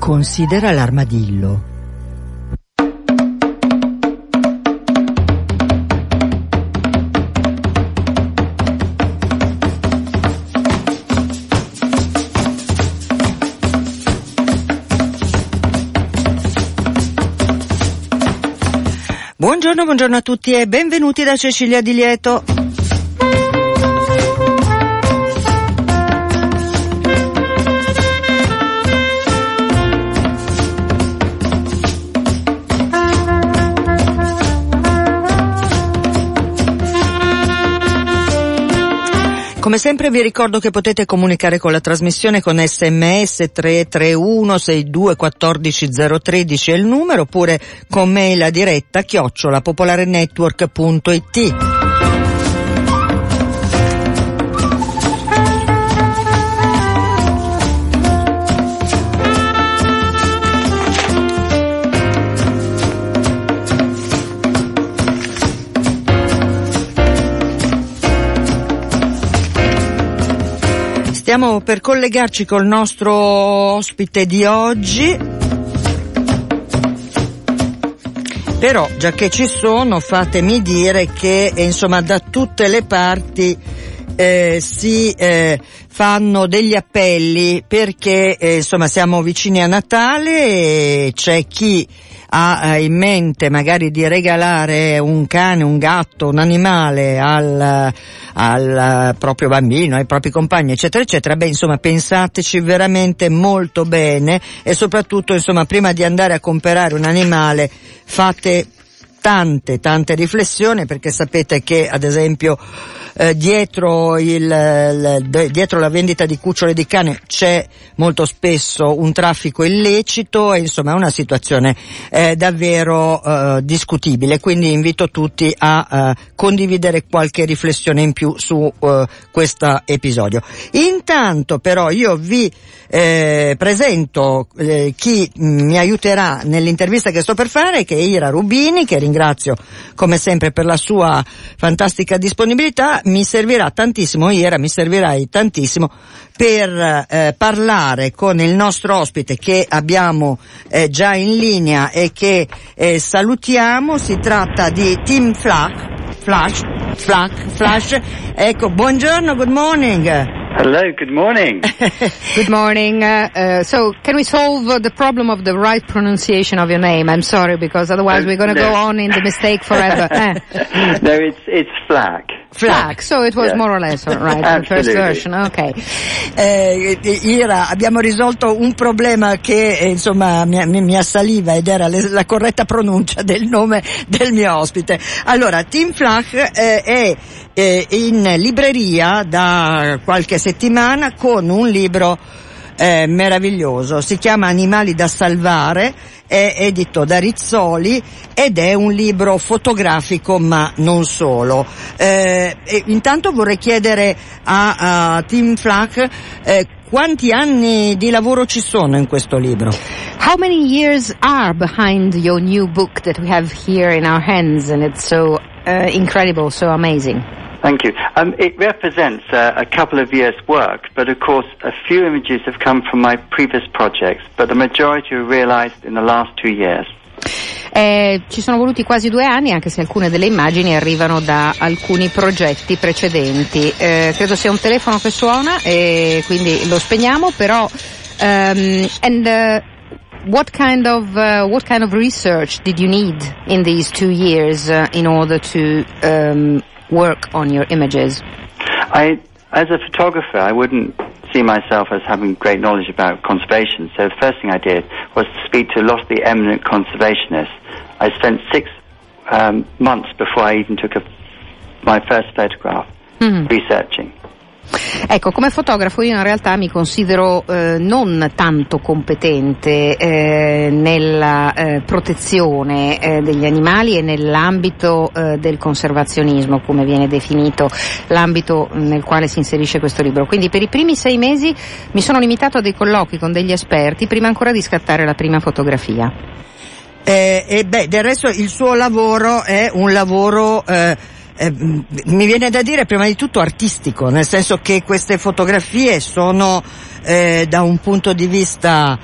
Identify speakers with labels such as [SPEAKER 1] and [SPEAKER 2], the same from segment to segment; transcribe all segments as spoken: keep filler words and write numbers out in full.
[SPEAKER 1] Considera l'armadillo. Buongiorno, buongiorno a tutti e benvenuti da Cecilia Di Lieto. Come sempre vi ricordo che potete comunicare con la trasmissione con sms tre tre uno sei due uno quattro zero uno tre è il numero, oppure con mail a diretta chiocciola popolarenetwork punto it. Stiamo per collegarci col nostro ospite di oggi, però già che ci sono fatemi dire che eh, insomma da tutte le parti eh, si eh, fanno degli appelli perché eh, insomma siamo vicini a Natale e c'è chi ha in mente magari di regalare un cane, un gatto, un animale al, al proprio bambino, ai propri compagni, eccetera, eccetera. Beh, insomma, pensateci veramente molto bene e soprattutto, insomma, prima di andare a comprare un animale fate tante, tante riflessioni, perché sapete che, ad esempio, eh, dietro il, il dietro la vendita di cuccioli di cane c'è molto spesso un traffico illecito e insomma è una situazione eh, davvero eh, discutibile, quindi invito tutti a eh, condividere qualche riflessione in più su eh, questo episodio. Intanto però io vi eh, presento eh, chi mi aiuterà nell'intervista che sto per fare, che è Ira Rubini, che ringrazio come sempre per la sua fantastica disponibilità. Mi servirà tantissimo, Ira, mi servirai tantissimo per eh, parlare con il nostro ospite che abbiamo eh, già in linea e che eh, salutiamo. Si tratta di Tim Flack, Flash, Flack, Flash. Ecco, buongiorno, good morning.
[SPEAKER 2] Hello, good morning.
[SPEAKER 3] Good morning. Uh, uh, so, can we solve uh, the problem of the right pronunciation of your name? I'm sorry, because otherwise we're going to
[SPEAKER 2] no.
[SPEAKER 3] go on in the mistake forever. Eh.
[SPEAKER 2] No, it's it's Flack.
[SPEAKER 3] Flack, so it was yeah. more or less right, the first version, ok.
[SPEAKER 1] Eh, Ira, abbiamo risolto un problema che eh, insomma mi, mi, mi assaliva ed era le, la corretta pronuncia del nome del mio ospite. Allora, Tim Flack eh, è eh, in libreria da qualche settimana con un libro eh, meraviglioso, si chiama Animali da salvare, è edito da Rizzoli ed è un libro fotografico ma non solo. Eh, e intanto vorrei chiedere a, a Tim Flack eh, quanti anni di lavoro ci sono in questo libro?
[SPEAKER 3] How many years are behind your new book that we have here in our hands, and it's so uh, incredible, so amazing?
[SPEAKER 2] Thank you. Um, it represents uh, a couple of years' work, but of course a few images have come from my previous projects, but the majority were realized in the last two years.
[SPEAKER 3] Eh, ci sono voluti quasi due anni, anche se alcune delle immagini arrivano da alcuni progetti precedenti. Eh, credo sia un telefono che suona e quindi lo spegniamo, però um, and uh, what kind of uh, what kind of research did you need in these two years uh, in order to um, work on your images?
[SPEAKER 2] I, as a photographer, I wouldn't see myself as having great knowledge about conservation, so the first thing I did was to speak to a lot of the eminent conservationists. I spent six um, months before I even took a, my first photograph, mm-hmm. researching.
[SPEAKER 3] Ecco, come fotografo io in realtà mi considero eh, non tanto competente eh, nella eh, protezione eh, degli animali e nell'ambito eh, del conservazionismo, come viene definito l'ambito nel quale si inserisce questo libro. Quindi per i primi sei mesi mi sono limitato a dei colloqui con degli esperti prima ancora di scattare la prima fotografia.
[SPEAKER 1] Eh, e beh, del resto il suo lavoro è un lavoro eh, Eh, mi viene da dire prima di tutto artistico, nel senso che queste fotografie sono eh, da un punto di vista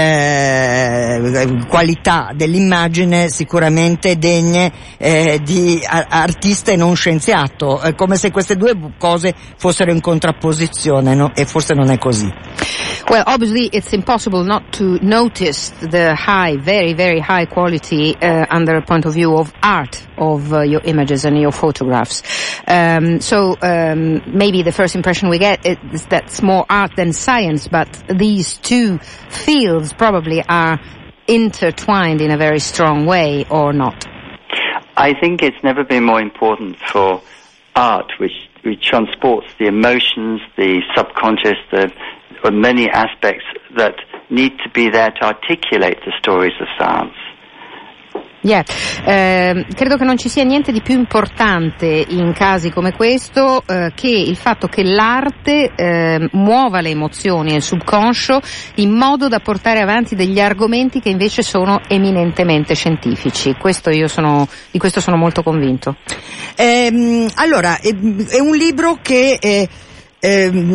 [SPEAKER 1] eh, qualità dell'immagine sicuramente degne eh, di a- artista e non scienziato, è come se queste due cose fossero in contrapposizione, no? E forse non è così.
[SPEAKER 3] Well, obviously it's impossible not to notice the high, very, very high quality uh, under a point of view of art of uh, your images and your photographs. Um, so um, maybe the first impression we get is that's more art than science, but these two fields probably are intertwined in a very strong way, or not?
[SPEAKER 2] I think it's never been more important for art, which, which transports the emotions, the subconscious, the many aspects that need to be there to articulate the stories of science.
[SPEAKER 3] Yeah. Eh, credo che non ci sia niente di più importante in casi come questo eh, che il fatto che l'arte eh, muova le emozioni e il subconscio in modo da portare avanti degli argomenti che invece sono eminentemente scientifici. Questo io sono, di questo sono molto convinto.
[SPEAKER 1] Eh, allora, è, è un libro che eh, eh,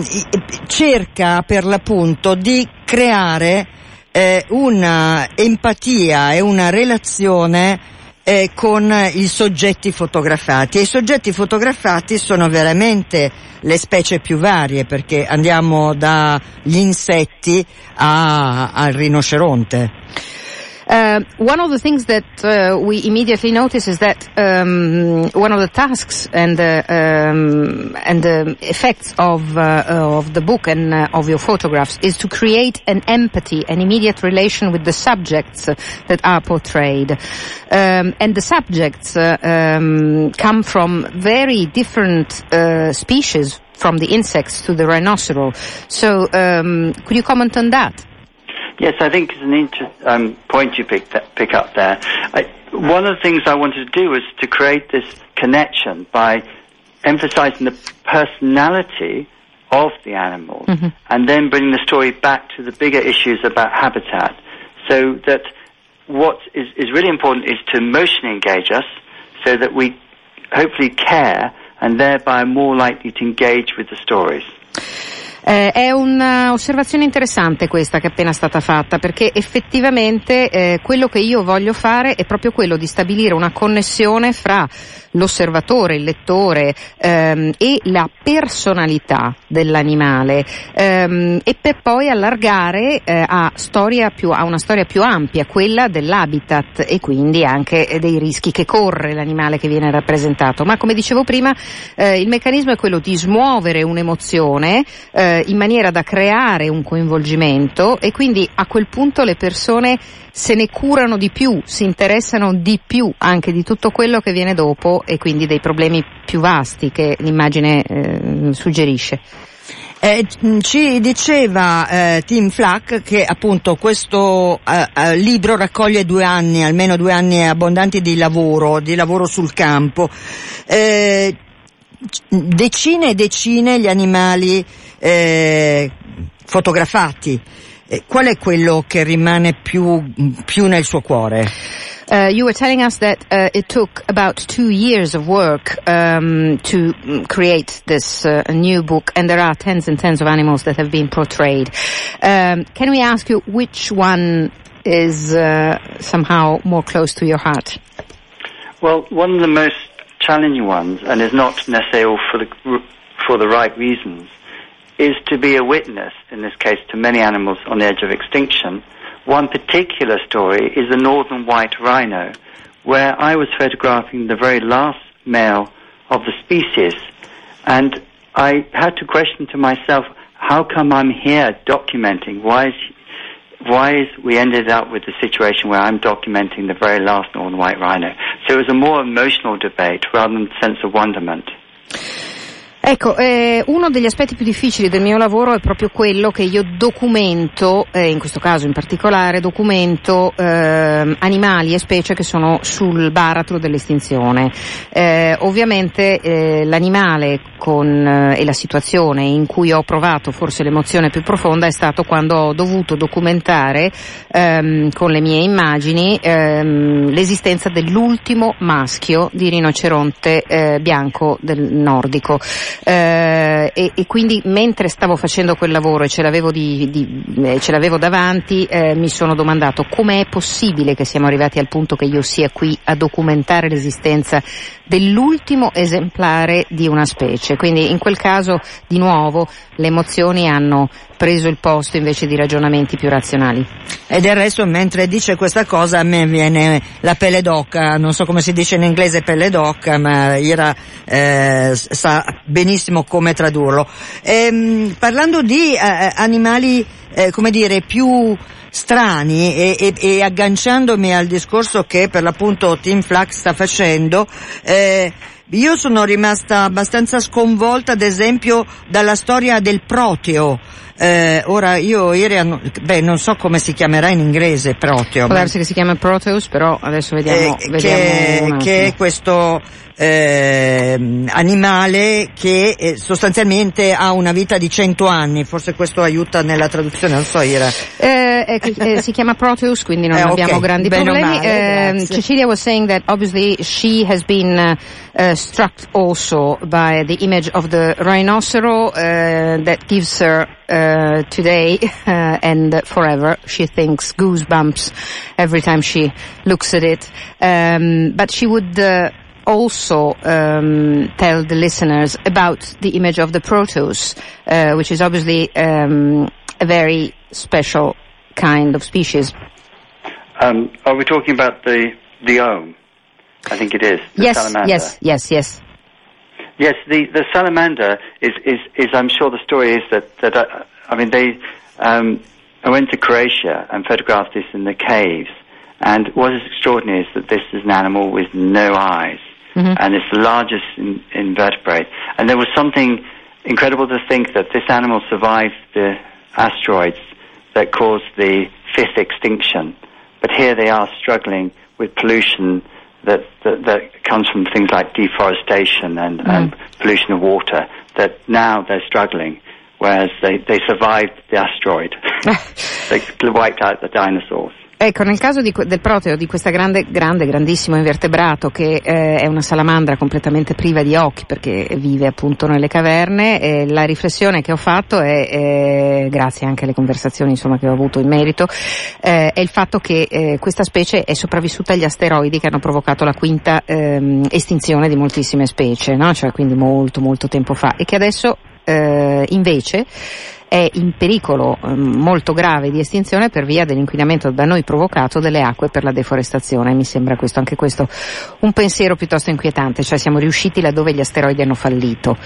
[SPEAKER 1] cerca per l'appunto di creare eh, una empatia e una relazione eh, con i soggetti fotografati, e i soggetti fotografati sono veramente le specie più varie, perché andiamo dagli insetti a, al rinoceronte.
[SPEAKER 3] Uh, one of the things that uh, we immediately notice is that um, one of the tasks and the um, and the effects of uh, of the book and uh, of your photographs is to create an empathy, an immediate relation with the subjects that are portrayed, um, and the subjects uh, um, come from very different uh, species, from the insects to the rhinoceros. So, um, could you comment on that?
[SPEAKER 2] Yes, I think it's an interesting um, point you pick, that, pick up there. I, one of the things I wanted to do was to create this connection by emphasizing the personality of the animals, mm-hmm. and then bringing the story back to the bigger issues about habitat, so that what is, is really important is to emotionally engage us, so that we hopefully care and thereby are more likely to engage with the stories.
[SPEAKER 3] Eh, è un'osservazione interessante questa che è appena stata fatta, perché effettivamente eh, quello che io voglio fare è proprio quello di stabilire una connessione fra l'osservatore, il lettore ehm, e la personalità dell'animale, ehm, e per poi allargare eh, a, storia più, a una storia più ampia, quella dell'habitat e quindi anche dei rischi che corre l'animale che viene rappresentato. Ma come dicevo prima, eh, il meccanismo è quello di smuovere un'emozione eh, in maniera da creare un coinvolgimento, e quindi a quel punto le persone se ne curano di più, si interessano di più anche di tutto quello che viene dopo, e quindi dei problemi più vasti che l'immagine eh, suggerisce.
[SPEAKER 1] Eh, ci diceva eh, Tim Flack che appunto questo eh, eh, libro raccoglie due anni, almeno due anni abbondanti di lavoro, di lavoro sul campo. Eh, decine e decine gli animali eh, fotografati. Eh, qual è quello che rimane più, più nel suo cuore?
[SPEAKER 3] Uh, you were telling us that uh, it took about two years of work um, to create this uh, new book, and there are tens and tens of animals that have been portrayed. Um, can we ask you which one is uh, somehow more close to your heart?
[SPEAKER 2] Well, one of the most challenging ones, and is not necessarily all for the, for the right reasons, is to be a witness, in this case, to many animals on the edge of extinction. One particular story is the northern white rhino, where I was photographing the very last male of the species, and I had to question to myself, how come I'm here documenting? Why is, why is we ended up with the situation where I'm documenting the very last northern white rhino? So it was a more emotional debate rather than a sense of wonderment.
[SPEAKER 3] Ecco, eh, uno degli aspetti più difficili del mio lavoro è proprio quello che io documento, eh, in questo caso in particolare, documento eh, animali e specie che sono sul baratro dell'estinzione. Eh, ovviamente eh, l'animale con, eh, e la situazione in cui ho provato forse l'emozione più profonda è stato quando ho dovuto documentare ehm, con le mie immagini ehm, l'esistenza dell'ultimo maschio di rinoceronte eh, bianco del nordico. eh, e, e quindi mentre stavo facendo quel lavoro e ce l'avevo, di, di, eh, ce l'avevo davanti, eh, mi sono domandato come è possibile che siamo arrivati al punto che io sia qui a documentare l'esistenza dell'ultimo esemplare di una specie. Quindi in quel caso di nuovo le emozioni hanno preso il posto invece di ragionamenti più razionali.
[SPEAKER 1] E del resto mentre dice questa cosa a me viene la pelle d'oca, non so come si dice in inglese pelle d'oca, ma Ira eh, sa benissimo come tradurlo. Ehm, parlando di eh, animali eh, come dire più strani e, e, e agganciandomi al discorso che per l'appunto Tim Flack sta facendo, eh, io sono rimasta abbastanza sconvolta ad esempio dalla storia del proteo. Eh, ora io ieri, beh non so come si chiamerà in inglese proteo.
[SPEAKER 3] Può darsi che si chiama Proteus, però adesso vediamo,
[SPEAKER 1] eh,
[SPEAKER 3] vediamo
[SPEAKER 1] che, che è questo eh, animale che eh, sostanzialmente ha una vita di cento anni, forse questo aiuta nella traduzione, non so Ira.
[SPEAKER 3] Eh, eh, eh, si chiama Proteus, quindi non
[SPEAKER 1] eh,
[SPEAKER 3] abbiamo
[SPEAKER 1] okay.
[SPEAKER 3] grandi
[SPEAKER 1] Bene
[SPEAKER 3] problemi.
[SPEAKER 1] Male,
[SPEAKER 3] uh, Cecilia was saying that obviously she has been uh, uh, struck also by the image of the rhinocero uh, that gives her uh, today uh, and forever. She thinks goosebumps every time she looks at it. Um, but she would uh, also um, tell the listeners about the image of the Proteus, uh, which is obviously um, a very special kind of species.
[SPEAKER 2] Um, are we talking about the the Ohm? I think it is. The
[SPEAKER 3] yes,
[SPEAKER 2] salamander.
[SPEAKER 3] yes, yes, yes.
[SPEAKER 2] Yes, the, the salamander is, is, is, I'm sure the story is that, that I, I mean, they, um, I went to Croatia and photographed this in the caves, and what is extraordinary is that this is an animal with no eyes, mm-hmm. and it's the largest in, invertebrate. And there was something incredible to think that this animal survived the asteroids that caused the fifth extinction, but here they are struggling with pollution That, that that comes from things like deforestation and, mm. and pollution of water, that now they're struggling, whereas they, they survived the asteroid. They wiped out the dinosaurs.
[SPEAKER 3] Ecco, nel caso di, del proteo, di questa grande, grande, grandissimo invertebrato che eh, è una salamandra completamente priva di occhi perché vive appunto nelle caverne, eh, la riflessione che ho fatto è, eh, grazie anche alle conversazioni insomma che ho avuto in merito, eh, è il fatto che eh, questa specie è sopravvissuta agli asteroidi che hanno provocato la quinta ehm, estinzione di moltissime specie, no? Cioè quindi molto molto tempo fa, e che adesso eh, invece è in pericolo eh, molto grave di estinzione per via dell'inquinamento da noi provocato delle acque per la deforestazione. Mi sembra questo, anche questo un pensiero piuttosto inquietante, cioè siamo riusciti laddove gli asteroidi hanno fallito.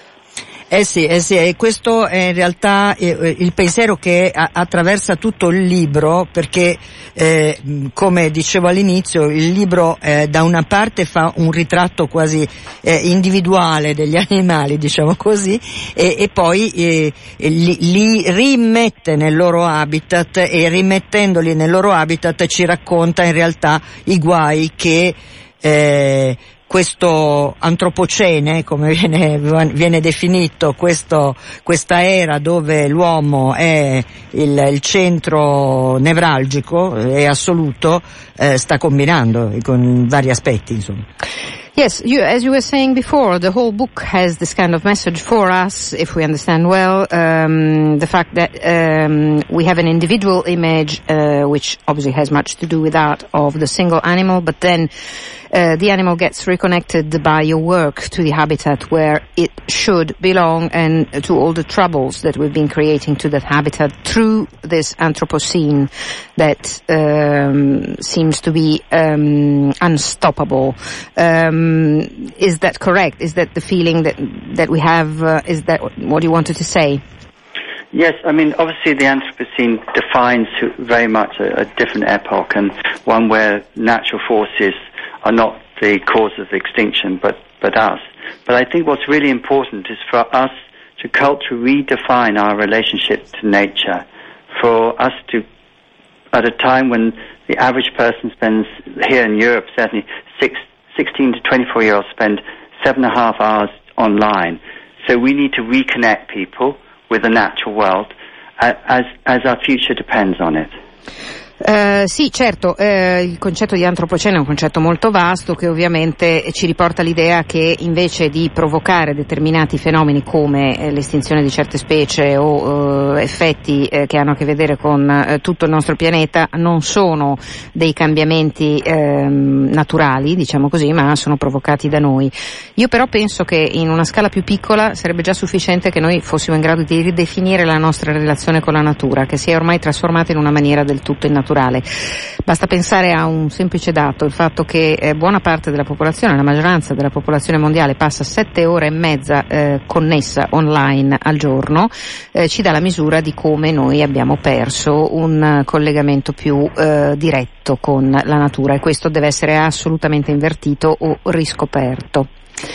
[SPEAKER 1] Eh sì, eh sì, e questo è in realtà eh, il pensiero che a- attraversa tutto il libro, perché eh, come dicevo all'inizio, il libro eh, da una parte fa un ritratto quasi eh, individuale degli animali, diciamo così, e, e poi eh, li, li rimette nel loro habitat, e rimettendoli nel loro habitat ci racconta in realtà i guai che eh, questo antropocene, come viene, viene definito, questo, questa era dove l'uomo è il, il centro nevralgico e assoluto, eh, sta combinando con vari aspetti, insomma.
[SPEAKER 3] Yes, you, as you were saying before, the whole book has this kind of message for us, if we understand well, um, the fact that um, we have an individual image, uh, which obviously has much to do with that, of the single animal, but then uh, the animal gets reconnected by your work to the habitat where it should belong, and to all the troubles that we've been creating to that habitat through this Anthropocene that um, seems to be um, unstoppable. Um, is that correct? Is that the feeling that that we have? Uh, is that what you wanted to say?
[SPEAKER 2] Yes, I mean, obviously the Anthropocene defines very much a, a different epoch, and one where natural forces are not the cause of extinction, but, but us. But I think what's really important is for us to culturally redefine our relationship to nature, for us to, at a time when the average person spends, here in Europe certainly, six, sixteen to twenty-four year olds spend seven and a half hours online. So we need to reconnect people with the natural world, uh, as, as our future depends on it.
[SPEAKER 3] Uh, sì, certo, uh, il concetto di antropocene è un concetto molto vasto che ovviamente ci riporta all'idea che invece di provocare determinati fenomeni come eh, l'estinzione di certe specie o uh, effetti eh, che hanno a che vedere con eh, tutto il nostro pianeta, non sono dei cambiamenti eh, naturali, diciamo così, ma sono provocati da noi. Io però penso che in una scala più piccola sarebbe già sufficiente che noi fossimo in grado di ridefinire la nostra relazione con la natura, che si è ormai trasformata in una maniera del tutto innaturale. Basta pensare a un semplice dato, il fatto che eh, buona parte della popolazione, la maggioranza della popolazione mondiale passa sette ore e mezza eh, connessa online al giorno, eh, ci dà la misura di come noi abbiamo perso un uh, collegamento più uh, diretto con la natura, e questo deve essere assolutamente invertito o riscoperto.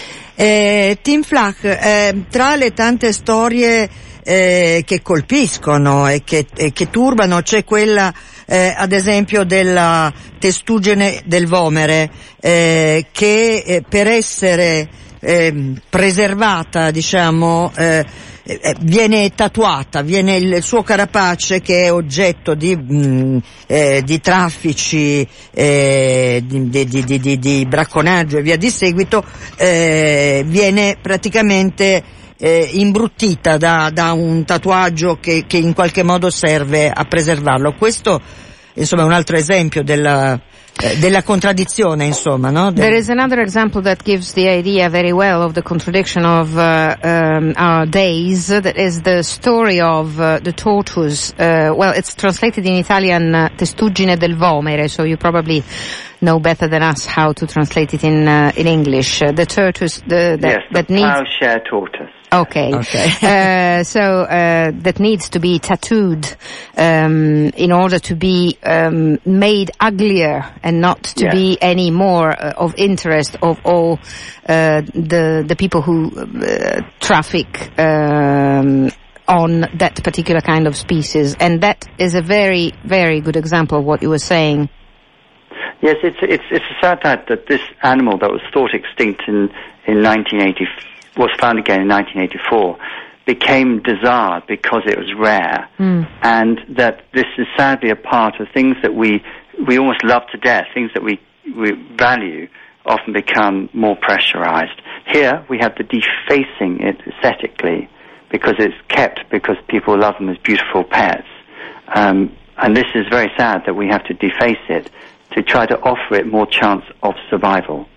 [SPEAKER 1] Eh, Tim Flach, eh, tra le tante storie eh, che colpiscono e che, e che turbano c'è quella eh, ad esempio della testuggine del vomere eh, che eh, per essere eh, preservata, diciamo, eh, eh, viene tatuata, viene il suo carapace, che è oggetto di, mh, eh, di traffici, eh, di, di, di, di, di bracconaggio e via di seguito, eh, viene praticamente eh, imbruttita da, da un tatuaggio che, che in qualche modo serve a preservarlo. Questo, insomma, è un altro esempio della della contraddizione, insomma, no?
[SPEAKER 3] There is another example that gives the idea very well of the contradiction of uh, um, our days. That is the story of uh, the tortoise. Uh, well, it's translated in Italian uh, testuggine del vomere, so you probably know better than us how to translate it in uh, in English. Uh, the tortoise, the, that,
[SPEAKER 2] yes, the
[SPEAKER 3] that needs
[SPEAKER 2] plowshare tortoise.
[SPEAKER 3] Okay.
[SPEAKER 1] Okay.
[SPEAKER 3] uh, so uh, that needs to be tattooed um, in order to be um, made uglier and not to
[SPEAKER 2] yes.
[SPEAKER 3] be any more uh, of interest of all uh, the the people who uh, traffic um, on that particular kind of species. And that is a very, very good example of what you were saying.
[SPEAKER 2] Yes, it's it's it's a sad fact that this animal that was thought extinct in in nineteen eighty was found again in nineteen eighty-four, became desired because it was rare, mm. and that this is sadly a part of things that we we almost love to death, things that we we value, often become more pressurized. Here we have the defacing it aesthetically because it's kept because people love them as beautiful pets, um, and this is very sad that we have to deface it to try to offer it more chance of survival.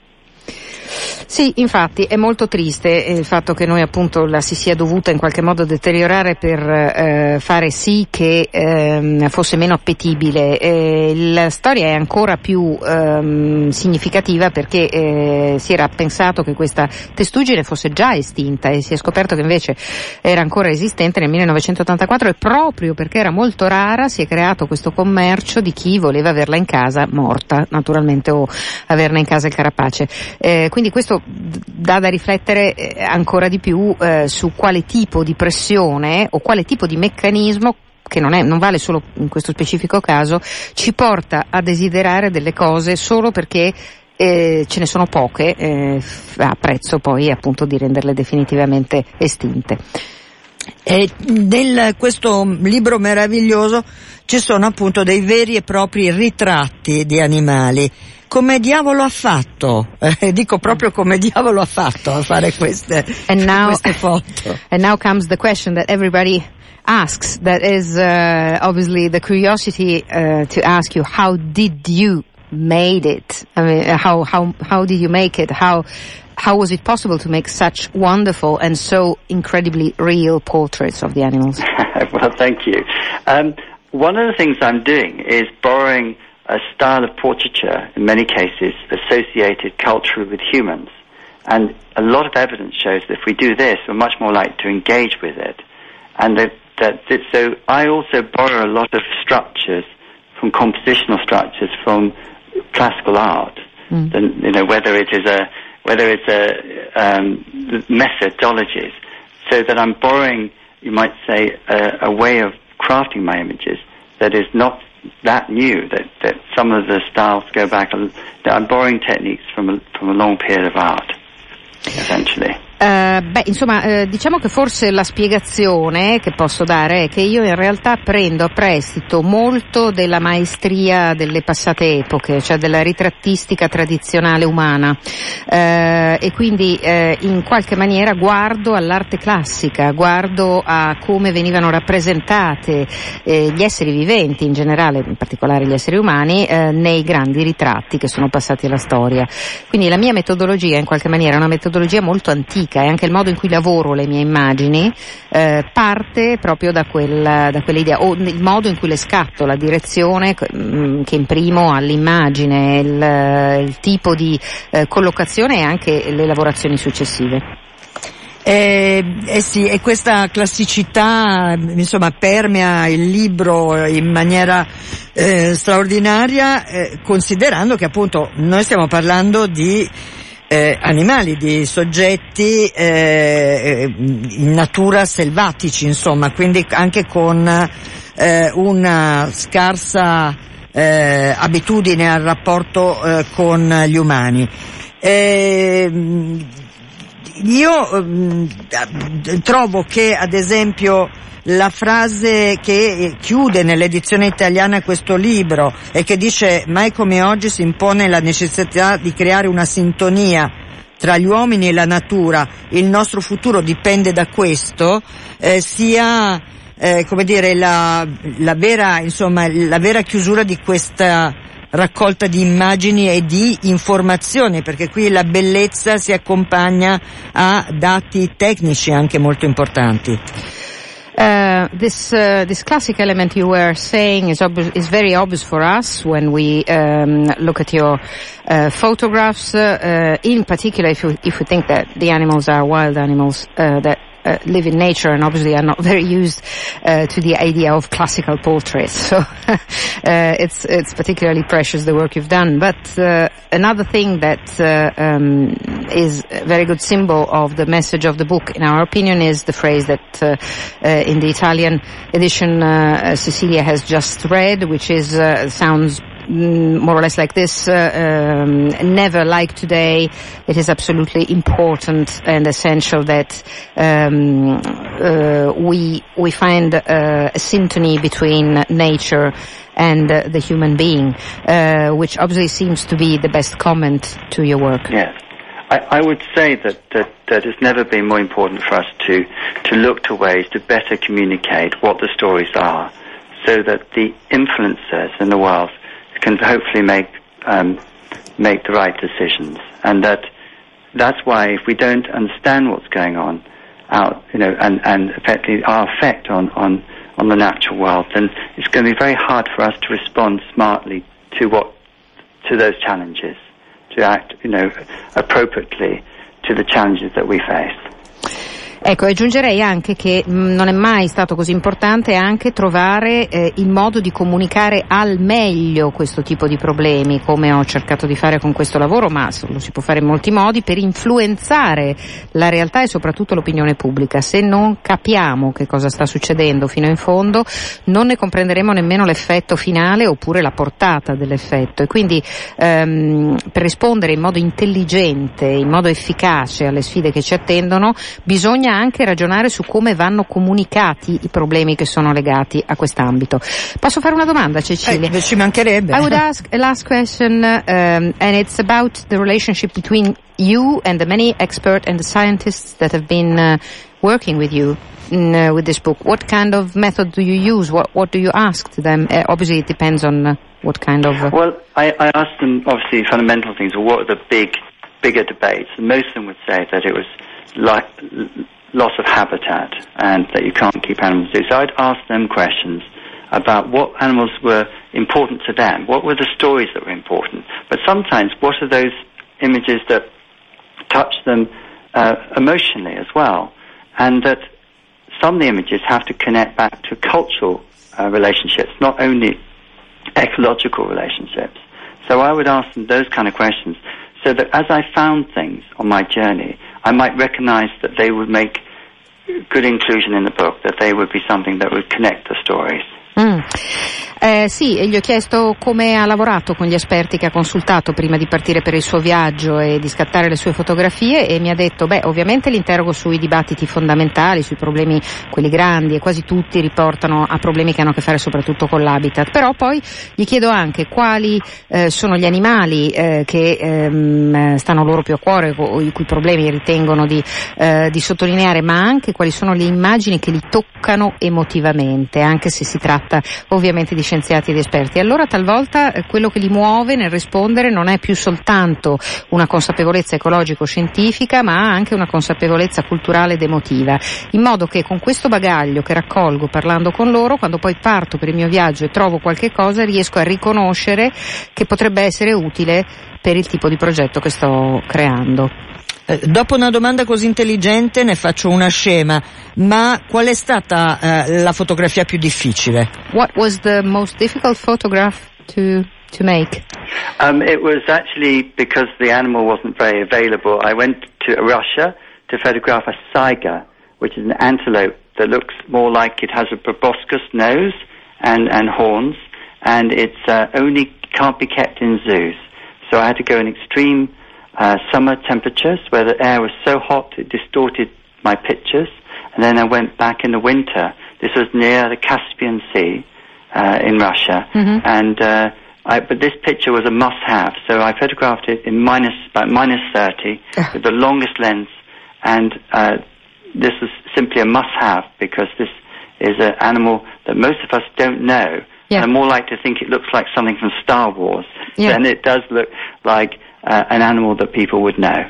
[SPEAKER 3] Sì, infatti è molto triste il fatto che noi appunto la si sia dovuta in qualche modo deteriorare per eh, fare sì che eh, fosse meno appetibile. Eh, la storia è ancora più eh, significativa perché eh, si era pensato che questa testuggine fosse già estinta e si è scoperto che invece era ancora esistente nel millenovecentottantaquattro, e proprio perché era molto rara si è creato questo commercio di chi voleva averla in casa morta, naturalmente, o averne in casa il carapace. Eh, quindi questo dà da riflettere ancora di più eh, su quale tipo di pressione o quale tipo di meccanismo, che non è, non vale solo in questo specifico caso, ci porta a desiderare delle cose solo perché eh, ce ne sono poche, eh, a prezzo poi appunto di renderle definitivamente estinte.
[SPEAKER 1] E nel questo libro meraviglioso ci sono appunto dei veri e propri ritratti di animali. Come diavolo ha fatto? Eh, dico proprio come diavolo ha fatto a fare queste,
[SPEAKER 3] and now,
[SPEAKER 1] queste foto.
[SPEAKER 3] And now comes the question that everybody asks, that is uh, obviously the curiosity uh, to ask you, how did you made it? I mean, how how how did you make it? How how was it possible to make such wonderful and so incredibly real portraits of the animals?
[SPEAKER 2] Well, thank you. Um, one of the things I'm doing is borrowing a style of portraiture, in many cases, associated culturally with humans. And a lot of evidence shows that if we do this, we're much more likely to engage with it. And that, that, that so I also borrow a lot of structures from compositional structures from classical art. Mm. And, you know, whether it is a, whether it's a, um, methodologies, so that I'm borrowing, you might say, a, a way of crafting my images that is not that new, that, that some of the styles go back, that I'm borrowing techniques from a, from a long period of art, essentially.
[SPEAKER 3] Uh, beh, insomma, eh, diciamo che forse la spiegazione che posso dare è che io in realtà prendo a prestito molto della maestria delle passate epoche, cioè della ritrattistica tradizionale umana, eh, e quindi eh, in qualche maniera guardo all'arte classica, guardo a come venivano rappresentate eh, gli esseri viventi in generale, in particolare gli esseri umani, eh, nei grandi ritratti che sono passati alla storia. Quindi la mia metodologia in qualche maniera è una metodologia molto antica, e anche il modo in cui lavoro le mie immagini eh, parte proprio da, quel, da quell'idea, o il modo in cui le scatto, la direzione mh, che imprimo all'immagine, il, il tipo di eh, collocazione e anche le lavorazioni successive.
[SPEAKER 1] Eh, eh sì, e questa classicità insomma permea il libro in maniera eh, straordinaria, eh, considerando che appunto noi stiamo parlando di Eh, animali, di soggetti eh, in natura selvatici, insomma, quindi anche con eh, una scarsa eh, abitudine al rapporto eh, con gli umani. Eh, io eh, trovo che ad esempio la frase che chiude nell'edizione italiana questo libro e che dice mai come oggi si impone la necessità di creare una sintonia tra gli uomini e la natura, il nostro futuro dipende da questo, eh, sia eh, come dire la, la vera insomma la vera chiusura di questa raccolta di immagini e di informazioni, perché qui la bellezza si accompagna a dati tecnici anche molto importanti.
[SPEAKER 3] Uh, this uh, this classic element you were saying is ob- is very obvious for us when we um, look at your uh, photographs. Uh, in particular, if you if you think that the animals are wild animals uh, that uh, live in nature and obviously are not very used uh, to the idea of classical portraits. So uh, it's it's particularly precious the work you've done. But uh, another thing that uh, um, is a very good symbol of the message of the book, in our opinion, is the phrase that uh, uh, in the Italian edition uh, Cecilia has just read, which is uh, sounds more or less like this, uh, um, never like today. It is absolutely important and essential that um, uh, we we find uh, a syntony between nature and uh, the human being, uh, which obviously seems to be the best comment to your work.
[SPEAKER 2] Yes. I, I would say that, that, that it's never been more important for us to, to look to ways to better communicate what the stories are, so that the influencers in the world can hopefully make um, make the right decisions, and that that's why if we don't understand what's going on out, you know, and and effectively our effect on on on the natural world, then it's going to be very hard for us to respond smartly to what to those challenges, to act, you know, appropriately to the challenges that we face.
[SPEAKER 3] Ecco, aggiungerei anche che mh, non è mai stato così importante anche trovare eh, il modo di comunicare al meglio questo tipo di problemi, come ho cercato di fare con questo lavoro, ma lo si può fare in molti modi, per influenzare la realtà e soprattutto l'opinione pubblica. Se non capiamo che cosa sta succedendo fino in fondo, non ne comprenderemo nemmeno l'effetto finale oppure la portata dell'effetto. E quindi ehm, per rispondere in modo intelligente, in modo efficace alle sfide che ci attendono, bisogna anche ragionare su come vanno comunicati i problemi che sono legati a quest'ambito. Posso fare una domanda, Cecilia?
[SPEAKER 1] Eh, ci mancherebbe.
[SPEAKER 3] I would ask a last question, um, and it's about the relationship between you and the many experts and the scientists that have been uh, working with you in, uh, with this book. What kind of method do you use? What what do you ask to them? Uh, obviously, it depends on uh, what kind of. Uh...
[SPEAKER 2] Well, I, I asked them obviously fundamental things. Or what are the big, bigger debates? And most of them would say that it was like loss of habitat and that you can't keep animals do. So I'd ask them questions about what animals were important to them, what were the stories that were important, but sometimes what are those images that touch them uh, emotionally as well, and that some of the images have to connect back to cultural uh, relationships, not only ecological relationships. So I would ask them those kind of questions, so that as I found things on my journey, I might recognize that they would make good inclusion in the book, that they would be something that would connect the stories.
[SPEAKER 3] Mm. Eh, sì, e gli ho chiesto come ha lavorato con gli esperti che ha consultato prima di partire per il suo viaggio e di scattare le sue fotografie, e mi ha detto, beh, ovviamente li interrogo sui dibattiti fondamentali, sui problemi quelli grandi, e quasi tutti riportano a problemi che hanno a che fare soprattutto con l'habitat, però poi gli chiedo anche quali eh, sono gli animali eh, che ehm, stanno loro più a cuore, o i cui problemi ritengono di, eh, di sottolineare, ma anche quali sono le immagini che li toccano emotivamente, anche se si tratta ovviamente di scienziati ed esperti. Allora talvolta eh, quello che li muove nel rispondere non è più soltanto una consapevolezza ecologico-scientifica, ma anche una consapevolezza culturale ed emotiva, in modo che con questo bagaglio che raccolgo parlando con loro, quando poi parto per il mio viaggio e trovo qualche cosa, riesco a riconoscere che potrebbe essere utile per il tipo di progetto che sto creando.
[SPEAKER 1] Dopo una domanda così intelligente ne faccio una scema, ma qual è stata uh, la fotografia più difficile?
[SPEAKER 3] What was the most difficult photograph to to make?
[SPEAKER 2] Um, it was actually because the animal wasn't very available. I went to Russia to photograph a saiga, which is an antelope that looks more like it has a proboscis nose and, and horns, and it's uh, only can't be kept in zoos. So I had to go in extreme Uh, summer temperatures where the air was so hot it distorted my pictures, and then I went back in the winter. This was near the Caspian Sea uh, in Russia, mm-hmm. and uh, I, but this picture was a must-have, so I photographed it in minus about minus thirty with the longest lens, and uh, this was simply a must-have because this is an animal that most of us don't know. Yeah. And I'm more likely to think it looks like something from Star Wars yeah. than it does look like Uh, an animal that people would know.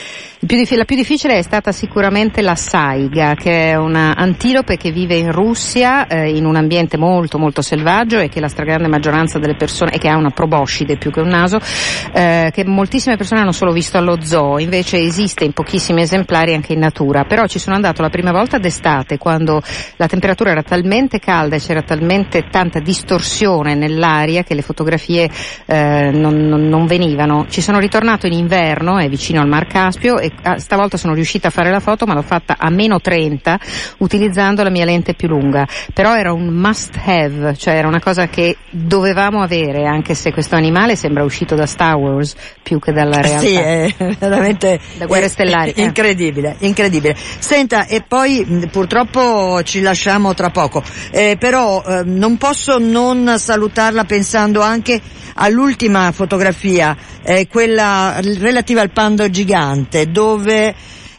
[SPEAKER 3] La più difficile è stata sicuramente la saiga, che è una antilope che vive in Russia eh, in un ambiente molto molto selvaggio, e che la stragrande maggioranza delle persone, e che ha una proboscide più che un naso, eh, che moltissime persone hanno solo visto allo zoo. Invece esiste in pochissimi esemplari anche in natura. Però ci sono andato la prima volta d'estate, quando la temperatura era talmente calda e c'era talmente tanta distorsione nell'aria che le fotografie eh, non, non, non venivano. Ci sono ritornato in inverno, è vicino al Mar Caspio, e stavolta sono riuscita a fare la foto, ma l'ho fatta a meno trenta utilizzando la mia lente più lunga. Però era un must have, cioè era una cosa che dovevamo avere, anche se questo animale sembra uscito da Star Wars più che dalla realtà.
[SPEAKER 1] Sì, è veramente
[SPEAKER 3] da Guerre Stellari.
[SPEAKER 1] È, è incredibile, incredibile. Senta, e poi purtroppo ci lasciamo tra poco, eh, però eh, non posso non salutarla pensando anche all'ultima fotografia, eh, quella relativa al panda gigante, dove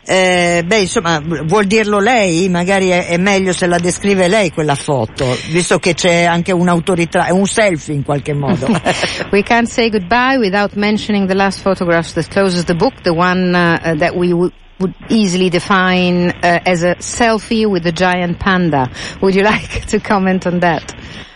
[SPEAKER 1] eh, beh insomma vuol dirlo lei, magari è, è meglio se la descrive lei quella foto, visto che c'è anche un'autorità, è un selfie in qualche modo.
[SPEAKER 3] We can't say goodbye without mentioning the last photograph that closes the book, the one uh, that we w- would easily define uh, as a selfie with a giant panda. Would you like to comment on that?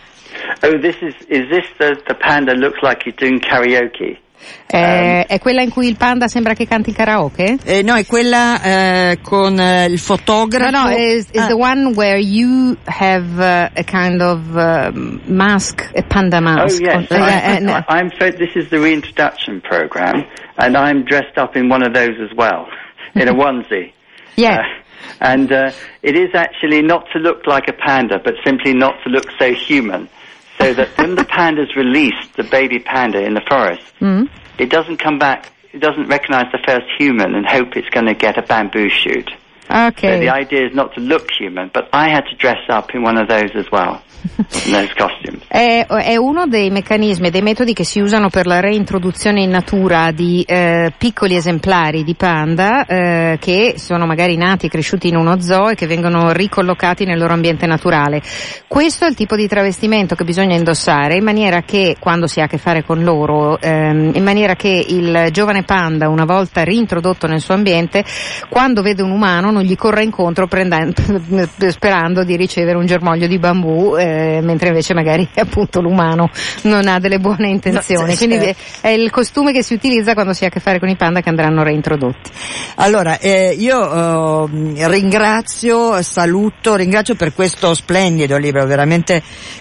[SPEAKER 2] Oh, this is, is this the, the panda looks like he's doing karaoke?
[SPEAKER 3] Eh, um, è quella in cui il panda sembra che canti il karaoke?
[SPEAKER 1] Eh, no, è quella eh, con eh, il fotografo.
[SPEAKER 3] No, no, is, is
[SPEAKER 1] ah.
[SPEAKER 3] the one where you have uh, a kind of uh, mask, a panda mask.
[SPEAKER 2] Oh yes,
[SPEAKER 3] uh,
[SPEAKER 2] I'm,
[SPEAKER 3] uh,
[SPEAKER 2] I'm, this is the reintroduction program, and I'm dressed up in one of those as well, in a onesie.
[SPEAKER 3] Yeah.
[SPEAKER 2] Uh, and uh, it is actually not to look like a panda, but simply not to look so human. So that when the panda's released, the baby panda in the forest, mm. it doesn't come back, it doesn't recognize the first human and hope it's going to get a bamboo shoot.
[SPEAKER 3] Okay.
[SPEAKER 2] So the idea is not to look human, but I had to dress up in one of those as well. Those costumes.
[SPEAKER 3] È, è uno dei meccanismi, dei metodi che si usano per la reintroduzione in natura di eh, piccoli esemplari di panda eh, che sono magari nati e cresciuti in uno zoo e che vengono ricollocati nel loro ambiente naturale. Questo è il tipo di travestimento che bisogna indossare in maniera che, quando si ha a che fare con loro, ehm, in maniera che il giovane panda, una volta reintrodotto nel suo ambiente, quando vede un umano non gli corra incontro prendendo, sperando di ricevere un germoglio di bambù, eh, mentre invece magari appunto l'umano non ha delle buone intenzioni. No, quindi è, è il costume che si utilizza quando si ha a che fare con i panda che andranno reintrodotti.
[SPEAKER 1] Allora, eh, io eh, ringrazio, saluto, ringrazio per questo splendido libro, veramente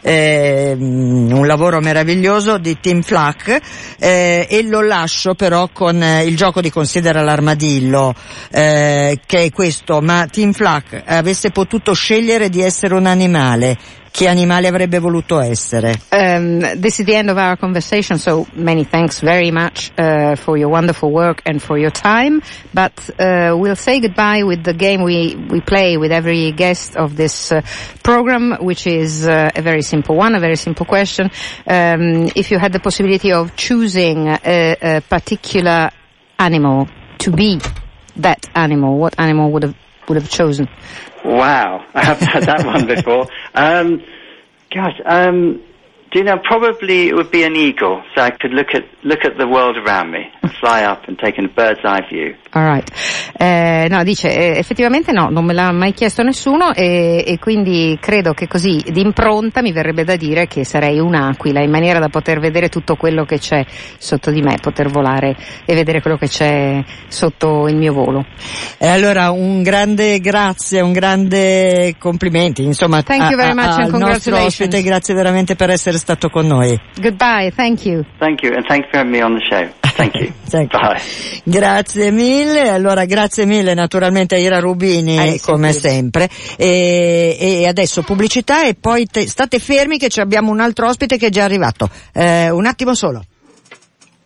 [SPEAKER 1] eh, un lavoro meraviglioso di Tim Flack, eh, e lo lascio però con eh, il gioco di Considera l'armadillo, eh, che è questo: ma Tim Flack avesse potuto scegliere di essere un animale, che animale avrebbe voluto essere.
[SPEAKER 3] Um, this is the end of our conversation, so many thanks very much uh, for your wonderful work and for your time, but uh, we'll say goodbye with the game we, we play with every guest of this uh, program, which is uh, a very simple one, a very simple question. Um, if you had the possibility of choosing a, a particular animal to be that animal, what animal would have would have chosen?
[SPEAKER 2] Wow, I haven't had that one before. Um, gosh, um, do you know, probably it would be an eagle, so I could look at look at the world around me and fly up and take a bird's eye view.
[SPEAKER 3] All right. Eh, no, dice, eh, effettivamente no, non me l'ha mai chiesto nessuno e, e quindi credo che così d'impronta mi verrebbe da dire che sarei un'aquila, in maniera da poter vedere tutto quello che c'è sotto di me, poter volare e vedere quello che c'è sotto il mio volo.
[SPEAKER 1] E allora un grande grazie, un grande complimenti, insomma,
[SPEAKER 3] thank you very much
[SPEAKER 1] a, a,
[SPEAKER 3] and
[SPEAKER 1] al nostro ospite, grazie veramente per essere stato con noi.
[SPEAKER 3] Goodbye, thank you.
[SPEAKER 2] Thank you, and thanks for having me on the show. Thank you.
[SPEAKER 1] Thank you.
[SPEAKER 2] Bye.
[SPEAKER 1] Grazie mille, allora grazie mille naturalmente a Ira Rubini, eh, come sempre, e, e adesso pubblicità e poi te, state fermi che abbiamo un altro ospite che è già arrivato, eh, un attimo solo.